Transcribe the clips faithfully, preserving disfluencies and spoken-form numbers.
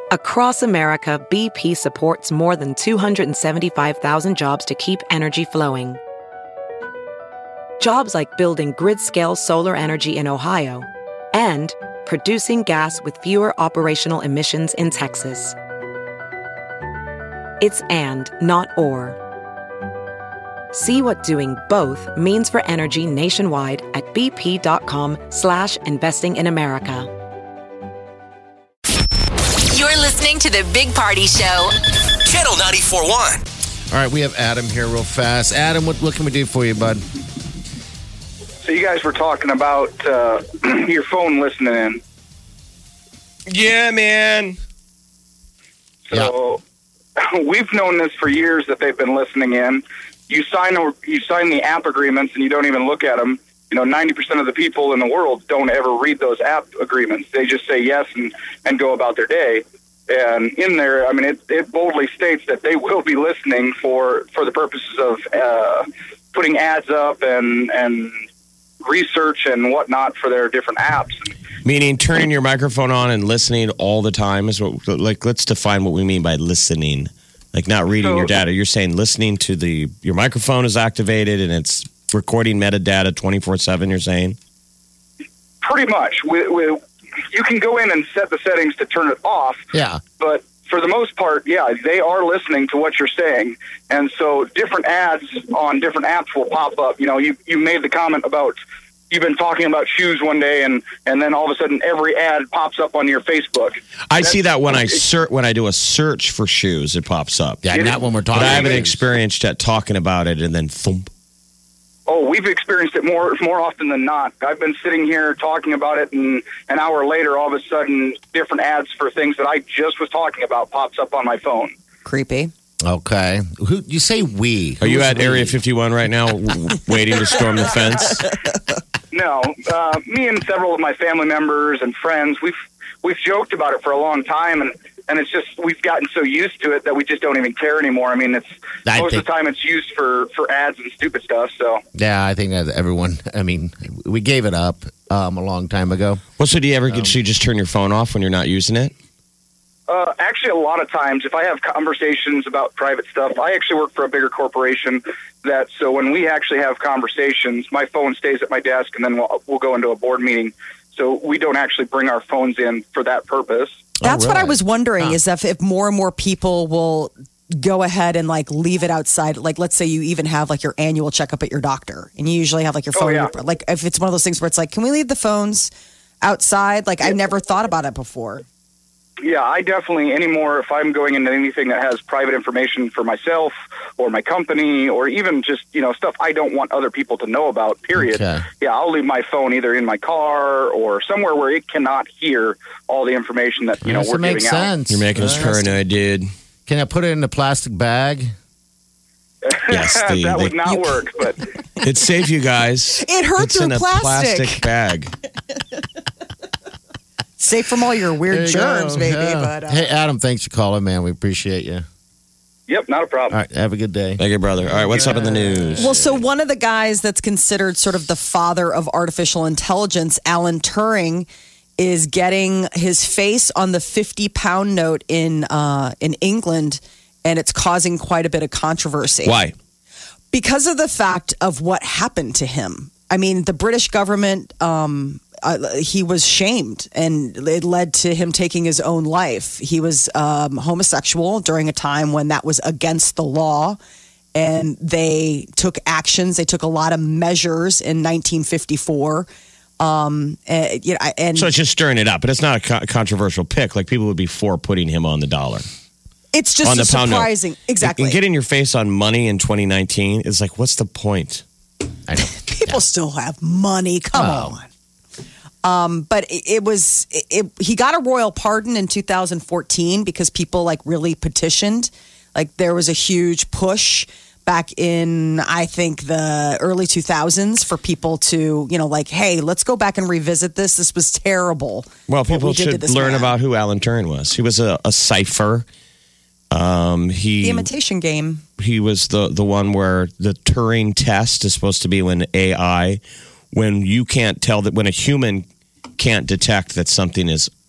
Across America, B P supports more than two hundred seventy-five thousand jobs to keep energy flowing. Jobs like building grid-scale solar energy in Ohio and producing gas with fewer operational emissions in Texas. It's and, not or. See what doing both means for energy nationwide at bp.com slash investing in America. You're listening to the Big Party Show. Channel ninety-four point one. All right, we have Adam here real fast. Adam, what, what can we do for you, bud? So you guys were talking about uh, your phone listening in. Yeah, man. So yeah. We've known this for years that they've been listening in. You sign you sign the app agreements and you don't even look at them. You know, ninety percent of the people in the world don't ever read those app agreements. They just say yes and, and go about their day. And in there, I mean, it, it boldly states that they will be listening for, for the purposes of uh, putting ads up and and research and whatnot for their different apps. Meaning turning your microphone on and listening all the time is what, like, let's define what we mean by listening. Like not reading So- your data. You're saying listening to the, your microphone is activated and it's recording metadata twenty-four seven, you're saying? Pretty much. We, we, you can go in and set the settings to turn it off. Yeah. But for the most part, yeah, they are listening to what you're saying. And so different ads on different apps will pop up. You know, you, you made the comment about, you've been talking about shoes one day, and, and then all of a sudden every ad pops up on your Facebook. I That's, see that when I search, when I do a search for shoes, it pops up. Yeah, not when we're talking. But I haven't about experienced yet talking about it and then thump. Oh, we've experienced it more more often than not. I've been sitting here talking about it, and an hour later, all of a sudden, different ads for things that I just was talking about pops up on my phone. Creepy. Okay. Who you say we? Are you Who's at we? Area fifty-one right now w- waiting to storm the fence? No, uh, me and several of my family members and friends, we've we've joked about it for a long time, and, and it's just we've gotten so used to it that we just don't even care anymore. I mean, it's I most think- of the time it's used for, for ads and stupid stuff. So Yeah, I think that everyone. I mean, we gave it up um, a long time ago. Well, so do you ever get, so you just turn your phone off when you're not using it? Uh, actually, a lot of times, if I have conversations about private stuff, I actually work for a bigger corporation. That so when we actually have conversations, my phone stays at my desk, and then we'll, we'll go into a board meeting. So we don't actually bring our phones in for that purpose. That's Oh, what I really? was wondering Huh. is if, if more and more people will go ahead and like leave it outside. Like, let's say you even have like your annual checkup at your doctor and you usually have like your Oh, phone. yeah. Like if it's one of those things where it's like, can we leave the phones outside? Like I never thought about it before. Yeah, I definitely anymore. If I'm going into anything that has private information for myself or my company, or even just you know stuff I don't want other people to know about. Period. Okay. Yeah, I'll leave my phone either in my car or somewhere where it cannot hear all the information that you know Yes, we're it makes giving out. sense. You're making us Yes. paranoid, dude. Can I put it in a plastic bag? Yes, the- that the- would not work. But It's safe, you guys. It hurt It's through in a plastic. plastic bag. Safe from all your There weird you germs, go. maybe. Yeah. But uh, Hey, Adam, thanks for calling, man. We appreciate you. yep, not a problem. All right, have a good day. Thank you, brother. All right, what's up in the news? Well, so one of the guys that's considered sort of the father of artificial intelligence, Alan Turing, is getting his face on the fifty pound note in uh, in England, and it's causing quite a bit of controversy. Why? Because of the fact of what happened to him. I mean, the British government, um, uh, he was shamed, and it led to him taking his own life. He was um, homosexual during a time when that was against the law, and they took actions. They took a lot of measures in nineteen fifty-four. Um, and, you know, and So it's just stirring it up, but it's not a co- controversial pick. Like people would be for putting him on the dollar. it's just on the a pound note. surprising. Exactly. And getting your face on money in twenty nineteen is like, what's the point? I know. People still have money. Come Wow. on. Um, but it, it was it, it, he got a royal pardon in two thousand fourteen because people like really petitioned. Like there was a huge push back in I think the early two thousands for people to you know like hey let's go back and revisit this. This was terrible. Well, what people we did to should this learn man. about who Alan Turing was. He was a, a cipher. Um, he The imitation game. he was the the one where the Turing test is supposed to be when A I, when you can't tell that when a human can't detect that something is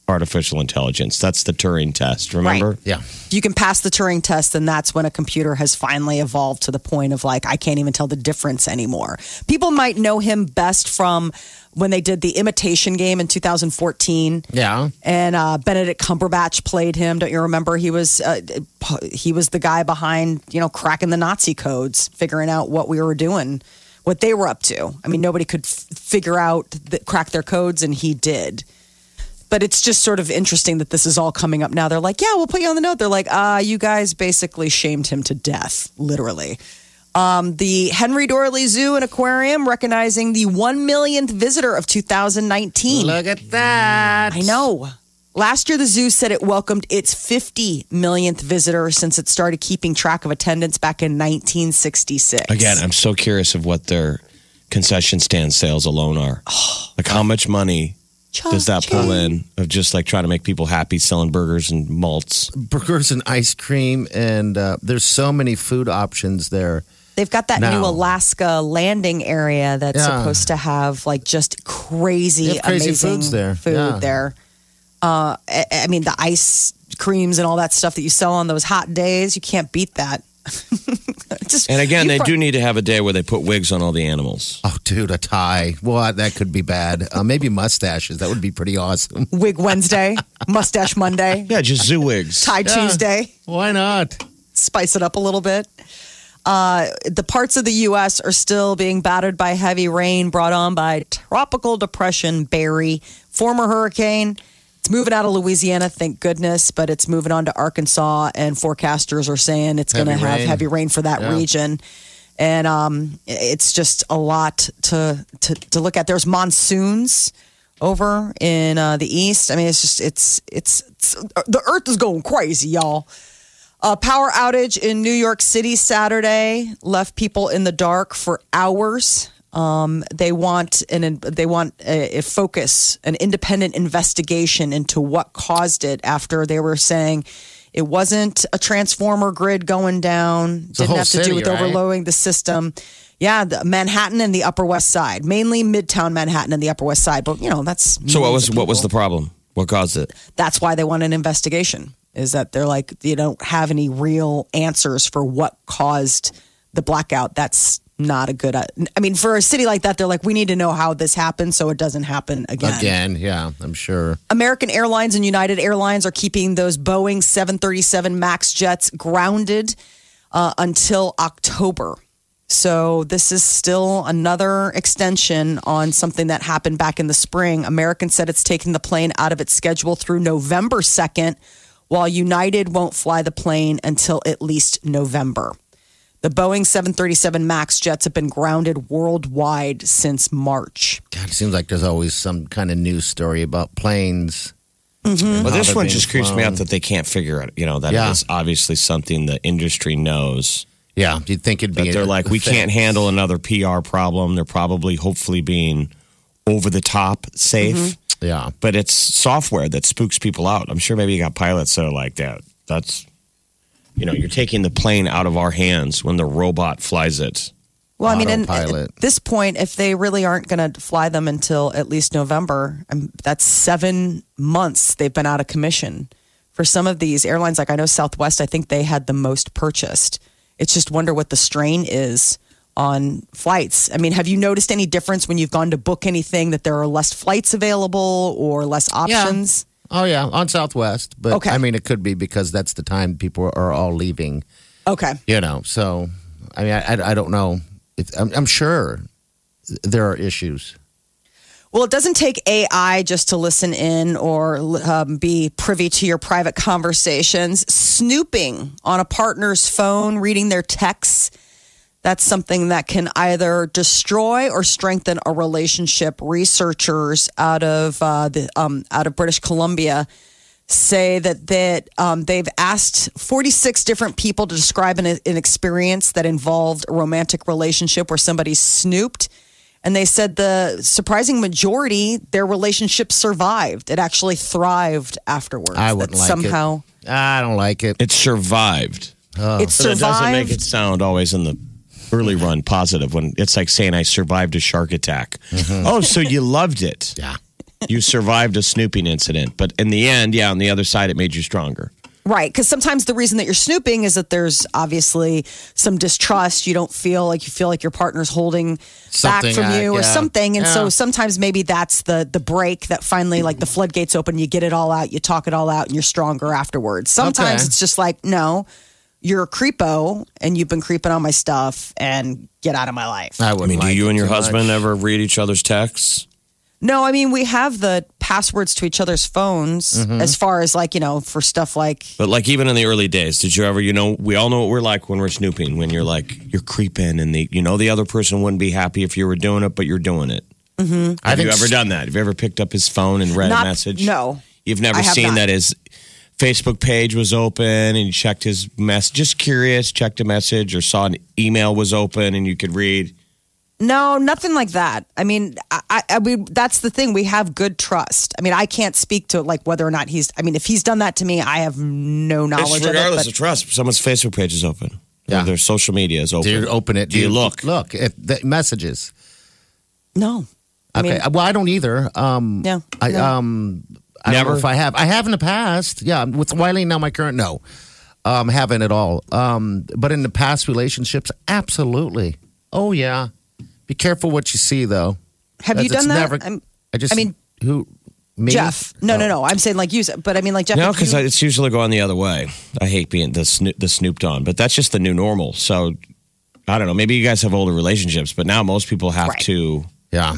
artificial intelligence. That's the Turing test, remember? Right. Yeah. If you can pass the Turing test, then that's when a computer has finally evolved to the point of like, I can't even tell the difference anymore. People might know him best from when they did the Imitation Game in two thousand fourteen. Yeah. And uh, Benedict Cumberbatch played him. Don't you remember? He was uh, he was the guy behind, you know, cracking the Nazi codes, figuring out what we were doing, what they were up to. I mean, nobody could f- figure out, the, crack their codes, and he did. But it's just sort of interesting that this is all coming up now. They're like, yeah, we'll put you on the note. They're like, ah, uh, you guys basically shamed him to death, literally. Um, the Henry Dorley Zoo and Aquarium recognizing the one millionth visitor of two thousand nineteen. Look at that. I know. Last year, the zoo said it welcomed its fifty millionth visitor since it started keeping track of attendance back in nineteen sixty-six. Again, I'm so curious of what their concession stand sales alone are. Like, how much money does that pull in of just like trying to make people happy selling burgers and malts? Burgers and ice cream, and uh, there's so many food options there. They've got that Now. new Alaska landing area that's Yeah. supposed to have like just crazy, They have crazy amazing foods there. food Yeah. there. Uh, I, I mean, the ice creams and all that stuff that you sell on those hot days, you can't beat that. Just, And again, you they pro- do need to have a day where they put wigs on all the animals. Oh, dude, a tie. Well, that could be bad. Uh, maybe mustaches. That would be pretty awesome. Wig Wednesday, Mustache Monday, Yeah, just zoo wigs. Tie Tuesday. Why not? Spice it up a little bit. Uh, the parts of the U S are still being battered by heavy rain brought on by tropical depression Barry, former hurricane. It's moving out of Louisiana, thank goodness, but it's moving on to Arkansas, and forecasters are saying it's going to Heavy have rain. heavy rain for that Yeah. region. And um, it's just a lot to, to to look at. There's monsoons over in uh, the east. I mean, it's just it's it's, it's the earth is going crazy, y'all. A power outage in New York City Saturday left people in the dark for hours. Um, they want an they want a, a focus, an independent investigation into what caused it. After they were saying it wasn't a transformer grid going down, the didn't whole have to do city, with right? overloading the system. Yeah, the Manhattan and the Upper West Side, mainly Midtown Manhattan and the Upper West Side. But you know that's So what was millions of what was the people. problem? What caused it? That's why they want an investigation. Is that they're like, you don't have any real answers for what caused the blackout. That's not a good, I mean, for a city like that, they're like, we need to know how this happened so it doesn't happen again. Again, yeah, I'm sure. American Airlines and United Airlines are keeping those Boeing seven thirty-seven MAX jets grounded uh, until October. So this is still another extension on something that happened back in the spring. American said it's taking the plane out of its schedule through November second, while United won't fly the plane until at least November. The Boeing seven thirty-seven MAX jets have been grounded worldwide since March. God, it seems like there's always some kind of news story about planes. Mm-hmm. Well, how this they're one being just creeps me flown. out that they can't figure it. You know, that Yeah. is obviously something the industry knows. Yeah, you'd think it'd be. That they're a- like, a we thing. can't handle another P R problem. They're probably, hopefully, being over the top safe. Yeah, But it's software that spooks people out. I'm sure maybe you got pilots that are like that. That's, you know, you're taking the plane out of our hands when the robot flies it. Well, I mean, and Autopilot. at this point, if they really aren't going to fly them until at least November, um, that's seven months they've been out of commission. For some of these airlines, like I know Southwest, I think they had the most purchased. It's just wonder what the strain is on flights. I mean, have you noticed any difference when you've gone to book anything that there are less flights available or less options? Oh yeah, on Southwest. But Okay. I mean, it could be because that's the time people are all leaving. Okay. You know, so I mean, I, I don't know. If, I'm, I'm sure there are issues. Well, it doesn't take A I just to listen in or um, be privy to your private conversations. Snooping on a partner's phone, reading their texts, that's something that can either destroy or strengthen a relationship. Researchers out of uh, the um, out of British Columbia say that that um, they've asked forty-six different people to describe an, an experience that involved a romantic relationship where somebody snooped. And they said the surprising majority, their relationship survived. It actually thrived afterwards. I wouldn't That like somehow it. I don't like it. It survived. it But it doesn't make survived. it sound always in the early run positive when it's like saying I survived a shark attack. Oh, so you loved it. Yeah. you survived a snooping incident. But in the end, yeah, on the other side, it made you stronger. Right, because sometimes the reason that you're snooping is that there's obviously some distrust. You don't feel like you feel like your partner's holding Something, back from uh, you or yeah. something, and Yeah. so sometimes maybe that's the the break that finally like the floodgates open. You get it all out, you talk it all out, and you're stronger afterwards. Sometimes Okay. it's just like, no, you're a creepo, and you've been creeping on my stuff, and get out of my life. I I wouldn't mean, do like you it and your too husband much. ever read each other's texts? No, I mean we have the passwords to each other's phones Mm-hmm. as far as like you know for stuff like But like even in the early days, did you ever, you know, we all know what we're like when we're snooping, when you're like, you're creeping and the, you know, the other person wouldn't be happy if you were doing it, but you're doing it. Mm-hmm. I Have you think ever s- done that? Have you ever picked up his phone and read Not- a message? no. You've never I have seen not. that his Facebook page was open and you checked his mess, just curious, checked a message or saw an email was open and you could read. No, nothing like that. I mean, I, I, I mean, that's the thing. We have good trust. I mean, I can't speak to like whether or not he's. I mean, if he's done that to me, I have no knowledge It's of it. regardless But of trust. Someone's Facebook page is open. Yeah. Or their social media is open. Do you open it? Do you look? Look at the messages. no, I Okay. mean, well, I don't either. Um, Yeah, I no. um, I don't Never? know if I have. I have in the past. Yeah, with Wiley now, my current no, um, haven't at all. Um, but in the past relationships, absolutely. Oh yeah. Be careful what you see, though. have you That's- done it's that? never- I'm- I just. I mean, who? Me? Jeff. No, Oh. no, no. I'm saying like use it, but I mean like Jeff. No, if because you- it's usually going the other way. I hate being the sno- the snooped on, but that's just the new normal. So I don't know. Maybe you guys have older relationships, but now most people have Right. to. Yeah.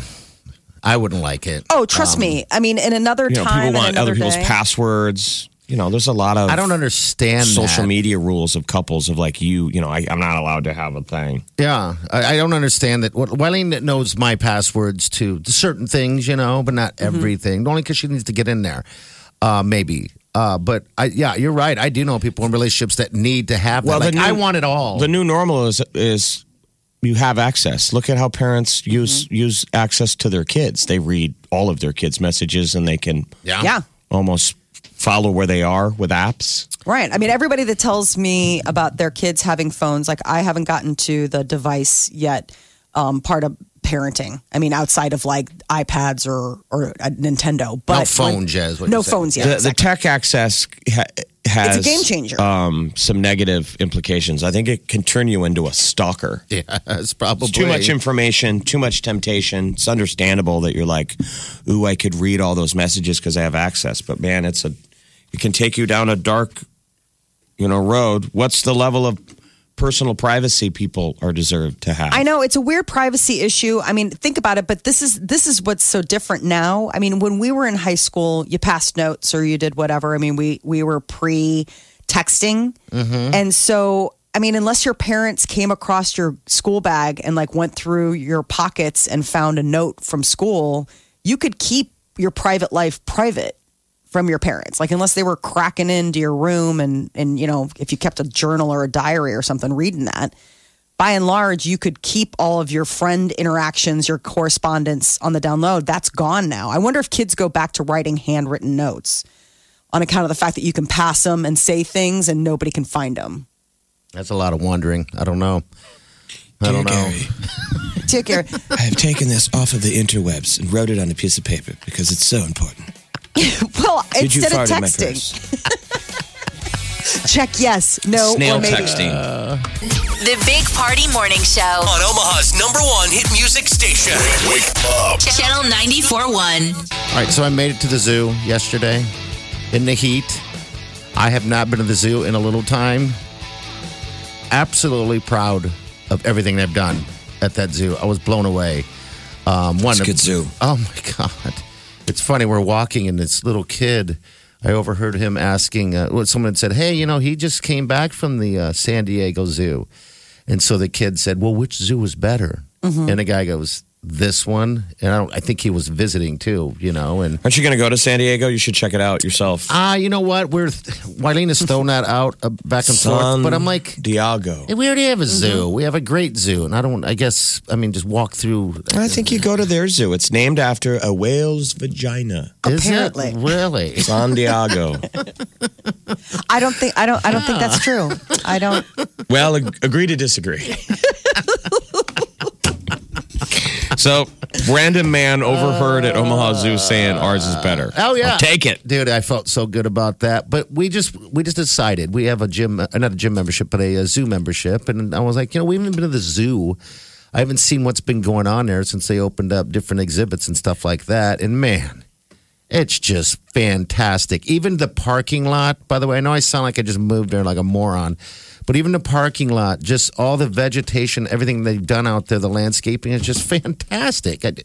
I wouldn't like it. oh, trust Um, me. I mean, in another You know, time, people and want another other people's day, passwords. You know, there's a lot of I don't understand social that. media rules of couples of like you. You know, I, I'm not allowed to have a thing. Yeah, I, I don't understand that. What Wiley knows my passwords to certain things, you know, but not Mm-hmm. everything. Only because she needs to get in there, uh, maybe. Uh, but I, yeah, you're right. I do know people in relationships that need to have that. Well, the Like, new- I want it all. The new normal is is you have access. Look at how parents use Mm-hmm. use access to their kids. They read all of their kids' messages and they can yeah, yeah. almost follow where they are with apps. Right. I mean, everybody that tells me about their kids having phones, like I haven't gotten to the device yet, um, part of parenting. I mean, outside of like iPads or or a Nintendo, but no phones, yet, is what no you're saying. phones yet. The, the exactly. tech access ha- has It's a game changer. Um, some negative implications. I think it can turn you into a stalker. Yeah, it's probably It's too much information, too much temptation. It's understandable that you're like, "Ooh, I could read all those messages because I have access." But man, it's a it can take you down a dark, you know, road. What's the level of personal privacy people are deserved to have? I know it's a weird privacy issue. I mean, think about it, but this is this is what's so different now. I mean, when we were in high school, you passed notes or you did whatever. I mean, we we were pre texting, and so I mean, unless your parents came across your school bag and like went through your pockets and found a note from school, you could keep your private life private from your parents. Like unless they were cracking into your room and and you know, if you kept a journal or a diary or something reading that, by and large you could keep all of your friend interactions, your correspondence on the download. That's gone now. I wonder if kids go back to writing handwritten notes on account of the fact that you can pass them and say things and nobody can find them. That's a lot of wondering. I don't know. I don't know. Dear Gary, I have taken this off of the interwebs and wrote it on a piece of paper because it's so important. well, Did you instead of fart in my texting, purse? check yes, no, Snail or maybe. texting. The Big Party Morning Show. On Omaha's number one hit music station. Wake up. Channel ninety-four point one. All right, so I made it to the zoo yesterday in the heat. I have not been to the zoo in a little time. Absolutely proud of everything they've done at that zoo. I was blown away. Um, one It's a good zoo. Oh my God. It's funny. We're walking and this little kid, I overheard him asking, uh, well, someone had said, hey, you know, he just came back from the uh, San Diego Zoo. And so the kid said, well, which zoo was better? Mm-hmm. And the guy goes, this one. And I, don't, I think he was visiting too, you know, and Aren't you going to go to San Diego? You should check it out yourself. Ah, you know what? We're Wileen has thrown that out uh, back and forth, but I'm like, Diego. we already have a zoo. Mm-hmm. We have a great zoo, and I don't. I guess I mean just walk through. I think you go to their zoo. It's named after a whale's vagina. Is it? Apparently. Really? San Diego. I don't think I don't I don't think that's true. I don't. Well, ag- agree to disagree. So random man overheard at Omaha Zoo saying ours is better. Oh yeah, I'll take it, dude. I felt so good about that. But we just we just decided we have a gym, uh, not a gym membership, but a, a zoo membership, and I was like, you know, we haven't been to the zoo. I haven't seen what's been going on there since they opened up different exhibits and stuff like that. And man, it's just fantastic. Even the parking lot, by the way, I know I sound like I just moved there like a moron, but even the parking lot, just all the vegetation, everything they've done out there, the landscaping is just fantastic. I,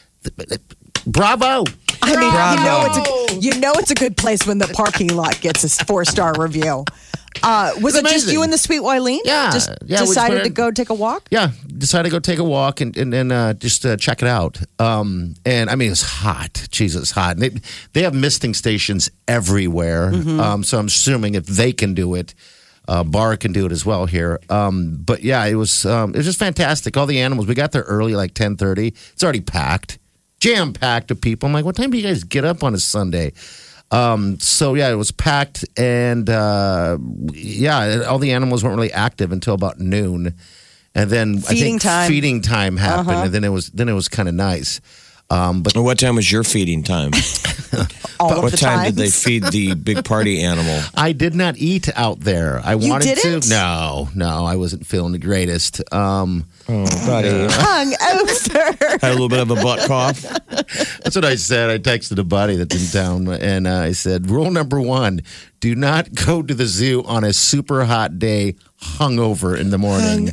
bravo. I mean, Bravo. you know, it's a, you know it's a good place when the parking lot gets a four-star review. Uh, was It's it just amazing. you and the sweet Wileen? Yeah. Just Yeah, we decided just to went- go take a walk? Yeah, decided to go take a walk and and, and uh, just uh, check it out. Um, and I mean, it's hot. Jesus, it's hot. And they, they have misting stations everywhere. Um, so I'm assuming if they can do it, uh, Bar can do it as well here. Um, but yeah, it was um, it was just fantastic. All the animals. We got there early, like ten thirty. It's already packed, jam packed of people. I'm like, what time do you guys get up on a Sunday? Um, so yeah, it was packed, and uh, yeah, all the animals weren't really active until about noon, and then I Feeding think time. feeding time happened, Uh-huh. and then it was then it was kind of nice. Um, but What time was your feeding time? All of what the time times? did they feed the big party animal? I did not eat out there. I You wanted didn't? to. No, no, I wasn't feeling the greatest. Um, Oh, buddy. Hung over. Had a little bit of a butt cough. That's what I said. I texted a buddy that's in town, and uh, I said, "Rule number one: do not go to the zoo on a super hot day, hungover in the morning."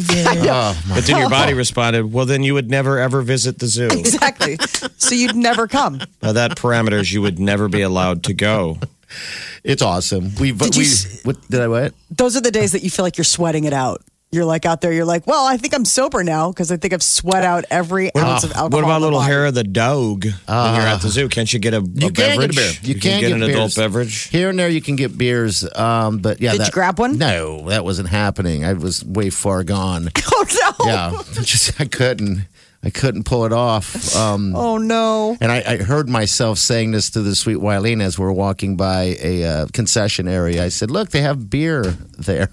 Oh, my But then your body responded, well, then you would never, ever visit the zoo. Exactly. So you'd never come. By that parameters, you would never be allowed to go. It's awesome. We, Did we, you s- what, did I what? Those are the days that you feel like you're sweating it out. You're like out there, you're like, well, I think I'm sober now because I think I've sweat out every ounce of alcohol. What about in my little body. hair of the dog when you're at the zoo? Can't you get a, a You can beverage? get a beer. You, can can get, an beers. adult beverage. Here and there, you can get beers. Um, but yeah, Did that, you grab one? No, that wasn't happening. I was way far gone. Oh, no. Yeah, just I couldn't. I couldn't pull it off. Um, Oh, no. And I, I heard myself saying this to the sweet Wileen as we're walking by a uh, concession area. I said, "Look, they have beer there."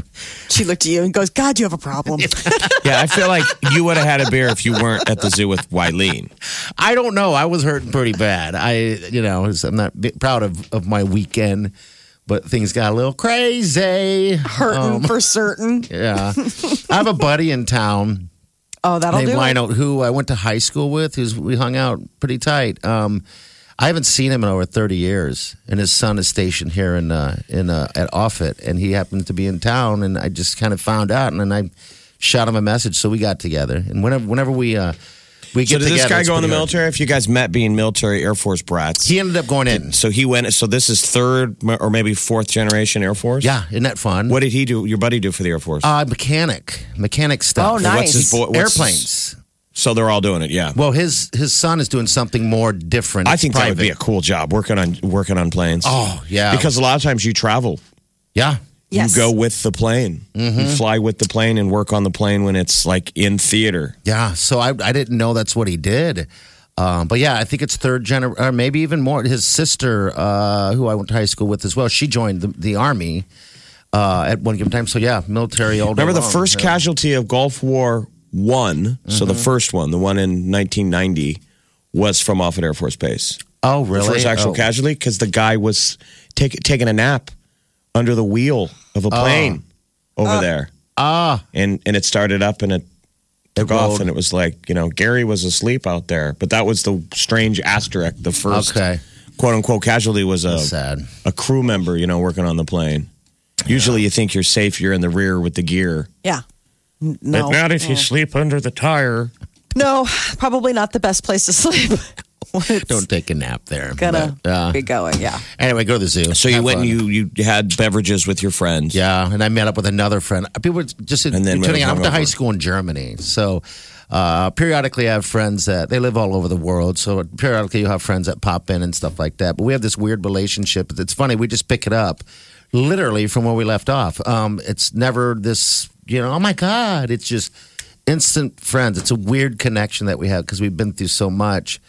She looked at you and goes, God, you have a problem. Yeah, I feel like you would have had a beer if you weren't at the zoo with Wileen. I don't know. I was hurting pretty bad. I, you know, I'm not bi- proud of, of my weekend, but things got a little crazy. Hurting for certain. Yeah. I have a buddy in town Oh, that'll named do it. Lionel who I went to high school with, who's we hung out pretty tight. Um, I haven't seen him in over thirty years, and his son is stationed here in uh, in uh, at Offutt, and he happened to be in town, and I just kind of found out, and then I shot him a message, so we got together, and whenever whenever we uh, we So get did this together, guy it's go in the pretty hard. military? If you guys met being military Air Force brats. He ended up going in. So he went, so this is third or maybe fourth generation Air Force? Yeah, isn't that fun? What did he do, your buddy do for the Air Force? Uh, mechanic, mechanic stuff. Oh, nice. What's his bo- what's- Airplanes. So they're all doing it, yeah. Well, his his son is doing something more different. I It's think that would private. be a cool job, working on working on planes. Oh yeah, Because a lot of times you travel. yeah. Yes. You go with the plane. You fly with the plane and work on the plane when it's like in theater. Yeah, so I I didn't know that's what he did. Um, but yeah, I think it's third gener, or maybe even more. His sister, uh, who I went to high school with as well, she joined the, the army uh, at one given time. So yeah, military all day Remember the long. first Yeah. casualty of Gulf War One? So the first one, the one in nineteen ninety, was from Offutt Air Force Base. Oh really? The first actual Oh. casualty because the guy was take, taking a nap under the wheel of a plane over there. Ah, and and it started up and it took It off rolled. and it was like, you know, Gary was asleep out there, but that was the strange asterisk. The first Okay. quote unquote casualty was a That's sad. a crew member, you know, working on the plane. Usually you think you're safe, you're in the rear with the gear. Yeah. N- No. But not if you sleep under the tire. No, probably not the best place to sleep. It's Don't take a nap there. gonna But, uh, be going. Yeah. anyway, go to the zoo. So you Have went fun. and you you had beverages with your friends. Yeah, and I met up with another friend. People were just And then tuning in. I went to hungover. high school in Germany, so uh, periodically I have friends that they live all over the world. So periodically you have friends that pop in and stuff like that. But we have this weird relationship. It's funny. We just pick it up, literally from where we left off. Um, it's never this, you know. Oh my God! It's just instant friends. It's a weird connection that we have because we've been through so much.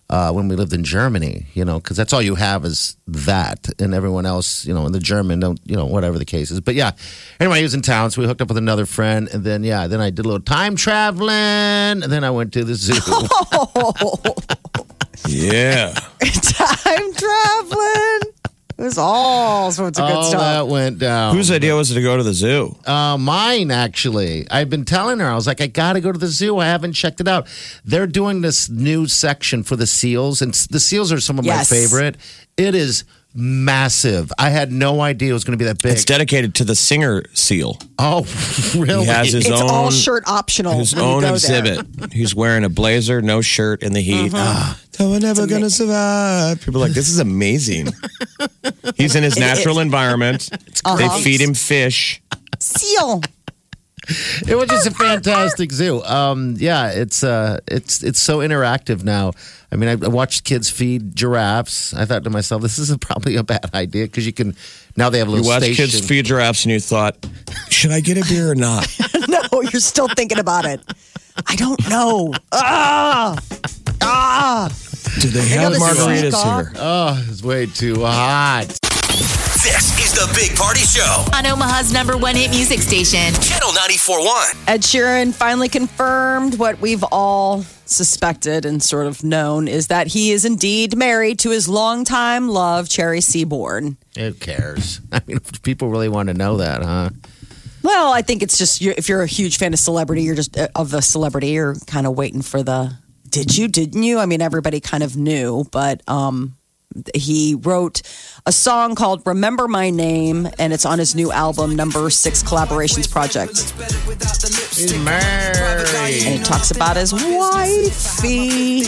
uh, when we lived in Germany, you know, because that's all you have is that, and everyone else, you know, in the German, don't, you know, whatever the case is. But yeah, anyway, he was in town, so we hooked up with another friend, and then yeah, then I did a little time traveling, and then I went to the zoo. Yeah. Time traveling. It was all sorts of good all stuff. that went down. Whose idea was it to go to the zoo? Uh, mine, actually. I've been telling her, I was like, I got to go to the zoo. I haven't checked it out. They're doing this new section for the seals, and the seals are some of Yes. my favorite. It is massive. I had no idea it was going to be that big. It's dedicated to the singer seal. Oh, really? He has his It's own all shirt optional. his when you own go there. exhibit. He's wearing a blazer, no shirt in the heat. Ah, we're never gonna survive. People are like, this is amazing. He's in his natural environment. Uh-huh. They feed him fish. Seal. It was just a fantastic zoo. Um, yeah, it's uh, it's it's so interactive now. I mean, I, I watched kids feed giraffes. I thought to myself, this is a, probably a bad idea because you can now they have a You little watch station. kids feed giraffes, and you thought, should I get a beer or not? No, you're still thinking about it. I don't know. Ah, ah. Do they know have this is margaritas Seagull. here? Oh, it's way too hot. This is the Big Party Show. On Omaha's number one hit music station. Channel ninety-four point one. Ed Sheeran finally confirmed what we've all suspected and sort of known is that he is indeed married to his longtime love, Cherry Seaborn. Who cares? I mean, if people really want to know that, huh? Well, I think it's just you're, if you're a huge fan of celebrity, you're just uh, of the celebrity, you're kind of waiting for the. Did you? Didn't you? I mean, everybody kind of knew, but um, he wrote a song called "Remember My Name," and it's on his new album, Number Six Collaborations Project. He's married. And he talks about his wifey.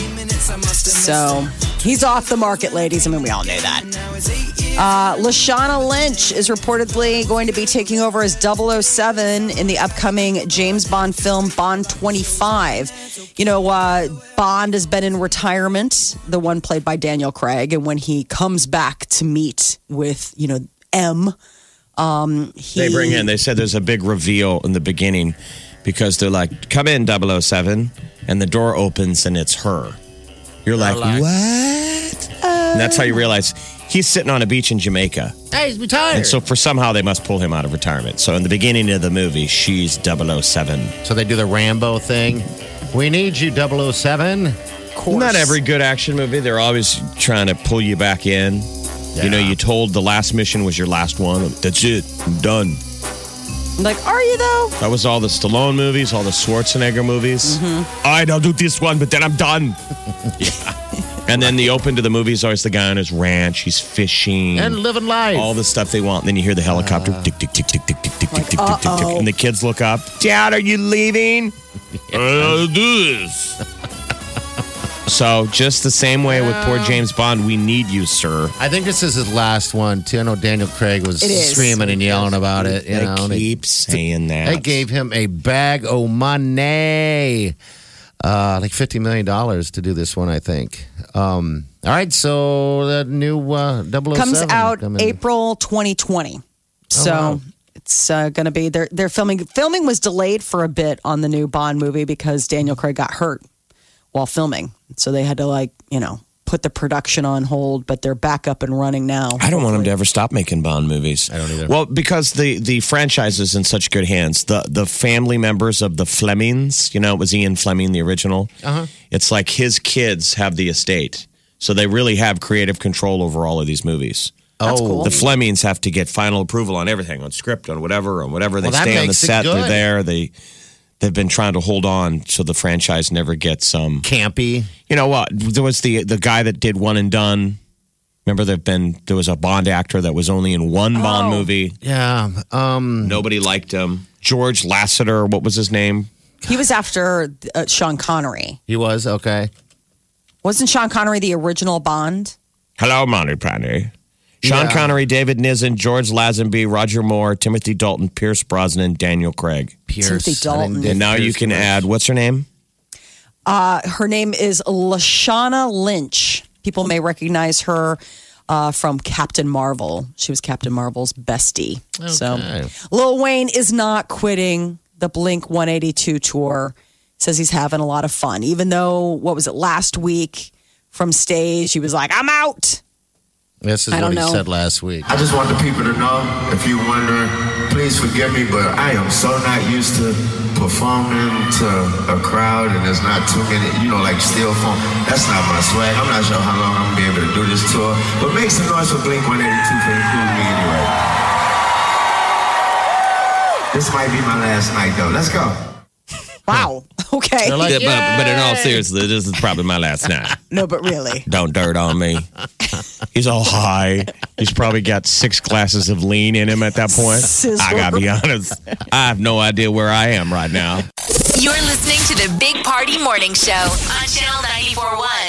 So he's off the market, ladies. I mean, we all knew that. Uh, Lashana Lynch is reportedly going to be taking over as double oh seven in the upcoming James Bond film Bond twenty-five. You know, uh, Bond has been in retirement, the one played by Daniel Craig. And when he comes back to meet with, you know, M, um, he... They bring in, they said there's a big reveal in the beginning because they're like, come in, double oh seven, and the door opens and it's her. You're like, like- what? And that's how you realize he's sitting on a beach in Jamaica. Hey, he's retired. And so for somehow they must pull him out of retirement. So in the beginning of the movie, she's double oh seven. So they do the Rambo thing. We need you, double oh seven. Of course. Not every good action movie. They're always trying to pull you back in. You know, you told the last mission was your last one. That's it. I'm done. Like, are you though? That was all the Stallone movies, all the Schwarzenegger movies. Mm-hmm. All right, I'll do this one, but then I'm done. Yeah. And then the open to the movie is always the guy on his ranch. He's fishing. And living life. All the stuff they want. And then you hear the helicopter. Uh. tick, tick, tick, tick, tick, tick, tick, Like, tick, tick, tick, tick, tick. uh-oh. And the kids look up. Dad, are you leaving? I'll do this. So just the same way with poor James Bond, we need you, sir. I think this is his last one, too. I know Daniel Craig was It is. screaming and yelling about it. You They know, and keep saying that. They gave him a bag of money, uh, like fifty million dollars to do this one, I think. Um, all right, so the new uh, double oh seven Comes out coming. April twenty twenty. So wow. it's uh, going to be they're they're filming. Filming was delayed for a bit on the new Bond movie because Daniel Craig got hurt while filming. So they had to like you know put the production on hold, but they're back up and running now. I don't want him to ever stop making Bond movies. I don't either. Well, because the the franchise is in such good hands. The the family members of the Flemings, you know, it was Ian Fleming, the original. Uh-huh. It's like his kids have the estate. So they really have creative control over all of these movies. That's oh, cool. The Flemings have to get final approval on everything, on script, on whatever, on whatever. They Well, that stay on the makes it set, they're good. there. They they've been trying to hold on so the franchise never gets um campy. you know what? There was the the guy that did One and Done. Remember, there've been there was a Bond actor that was only in one Bond Oh. movie. Yeah. Um, Nobody liked him. George Lasseter, what was his name? He was after uh, Sean Connery. he was okay. Wasn't Sean Connery the original Bond? Hello, Monty Penny. Sean Yeah. Connery, David Nissen, George Lazenby, Roger Moore, Timothy Dalton, Pierce Brosnan, Daniel Craig. Pierce. Timothy I didn't Dalton. get And now you Pierce can much. add, what's her name? Uh, her name is Lashana Lynch. People may recognize her uh, from Captain Marvel. She was Captain Marvel's bestie. So Okay. Lil Wayne is not quitting the Blink one eighty-two tour. Says he's having a lot of fun, even though, what was it, last week, from stage. He was like, I'm out. This is I what don't he know. said last week. I just want the people to know, if you're wondering, please forgive me, but I am so not used to performing to a crowd and there's not too many, you know, like steel phone. That's not my swag. I'm not sure how long I'm going to be able to do this tour, but make some noise for Blink one eighty-two for including me anyway. This might be my last night, though. Let's go. Wow. Okay. They're like, Yeah, but, but in all "Yay!" seriousness, this is probably my last night. No, but really. Don't dirt on me. He's all high. He's probably got six glasses of lean in him at that point. Sizzler. I gotta be honest. I have no idea where I am right now. You're listening to the Big Party Morning Show on Channel ninety-four point one.